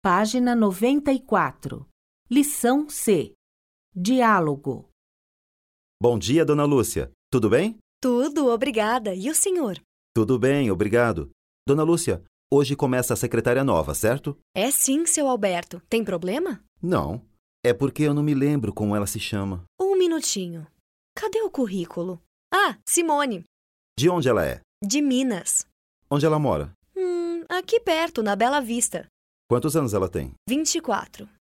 Página 94. Lição C. Diálogo. Bom dia, dona Lúcia. Tudo bem? Tudo, obrigada. E o senhor? Tudo bem, obrigado. Dona Lúcia, hoje começa a secretária nova, certo? É sim, seu Alberto. Tem problema? Não. É porque eu não me lembro como ela se chama. Um minutinho. Cadê o currículo? Ah, Simone. De onde ela é? De Minas. Onde ela mora? Aqui perto, na Bela Vista. Quantos anos ela tem? 24.